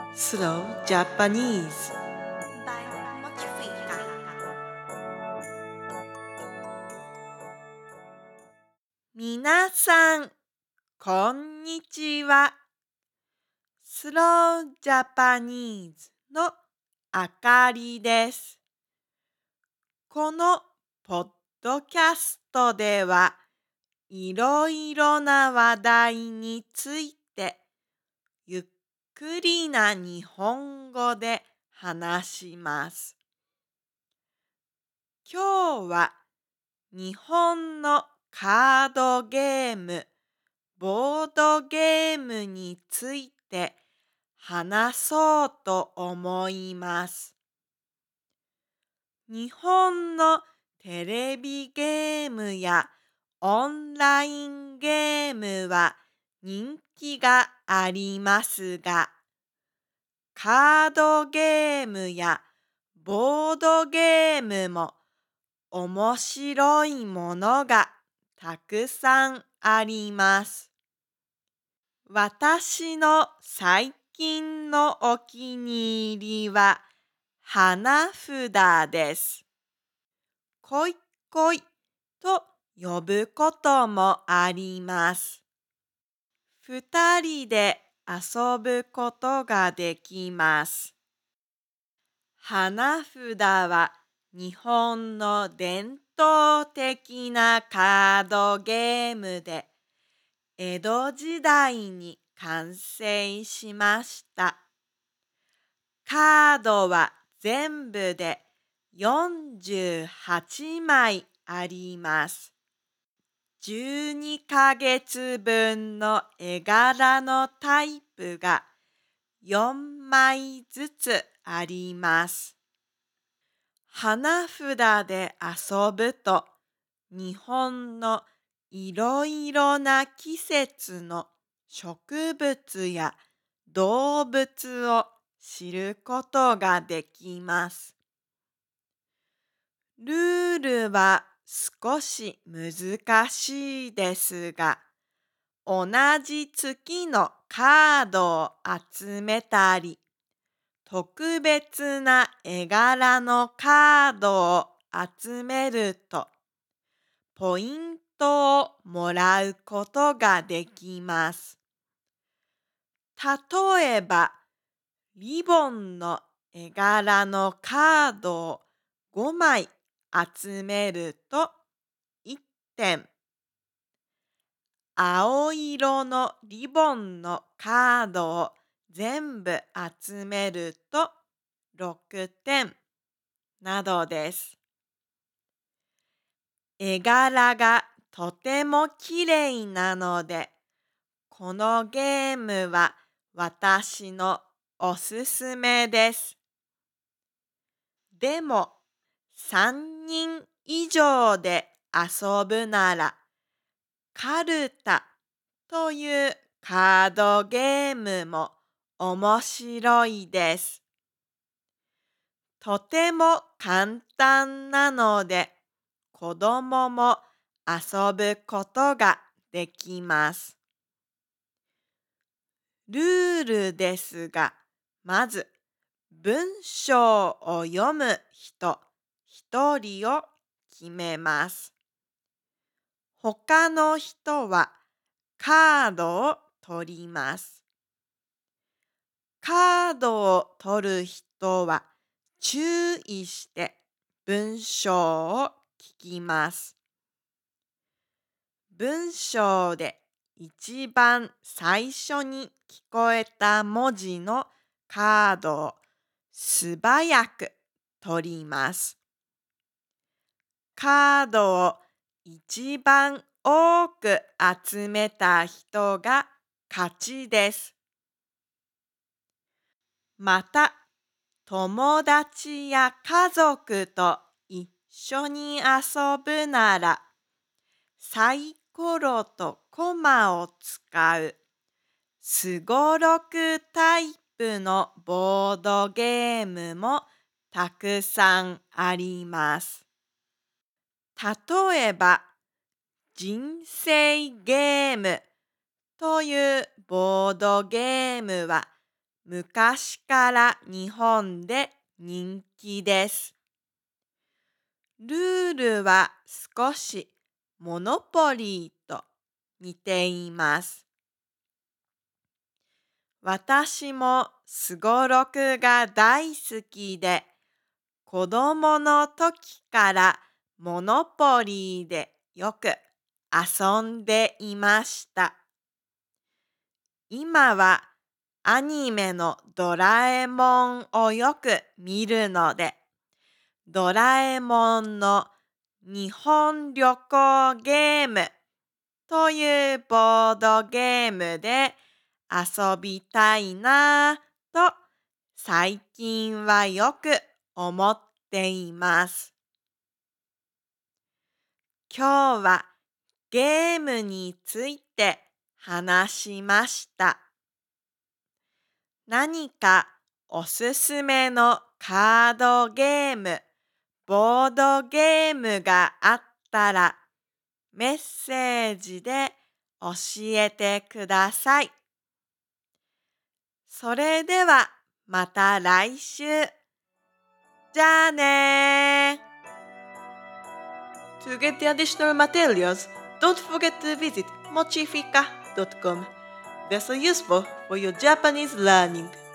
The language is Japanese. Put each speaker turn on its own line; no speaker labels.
Slow Japanese.
by Mochifika.
皆さん、こんにちは。Slow Japanese のあかりです。このポッドキャストでは、いろいろな話題について、ゆっくりな日本語で話します。今日は日本のカードゲーム、ボードゲームについて話そうと思います。日本のテレビゲームやオンラインゲームは人気がありますが、カードゲームやボードゲームも面白いものがたくさんあります。私の最近のお気に入りは花札です。こいこいと呼ぶこともあります。二人で遊ぶことができます。花札は日本の伝統的なカードゲームで、江戸時代に完成しました。カードは全部で48枚あります。12ヶ月分の絵柄のタイプが4枚ずつあります。花札で遊ぶと、日本のいろいろな季節の植物や動物を知ることができます。ルールは少し難しいですが、同じ月のカードを集めたり、特別な絵柄のカードを集めると、ポイントをもらうことができます。例えば、リボンの絵柄のカードを5枚集めると1点。青色のリボンのカードを全部集めると6点などです。絵柄がとてもきれいなので、このゲームは私のおすすめです。でも、3人以上で遊ぶなら、カルタというカードゲームも面白いです。とても簡単なので、子供も遊ぶことができます。ルールですが、まず文章を読む人一人を決めます。他の人はカードを取ります。カードを取る人は注意して文章を聞きます。文章で一番最初に聞こえた文字のカードを素早く取ります。カードを一番多く集めた人が勝ちです。また、友達や家族と一緒に遊ぶなら、サイコロとコマを使うすごろくタイプのボードゲームもたくさんあります。例えば、人生ゲームというボードゲームは昔から日本で人気です。ルールは少しモノポリーと似ています。私もすごろくが大好きで、子供の時からモノポリーでよく遊んでいました。今はアニメのドラえもんをよく見るので、ドラえもんの日本旅行ゲームというボードゲームで遊びたいなぁと最近はよく思っています。今日はゲームについて話しました。何かおすすめのカードゲーム、ボードゲームがあったらメッセージで教えてください。それではまた来週。じゃあねー。
To get the additional materials, don't forget to visit mochifika.com. They're so useful for your Japanese learning.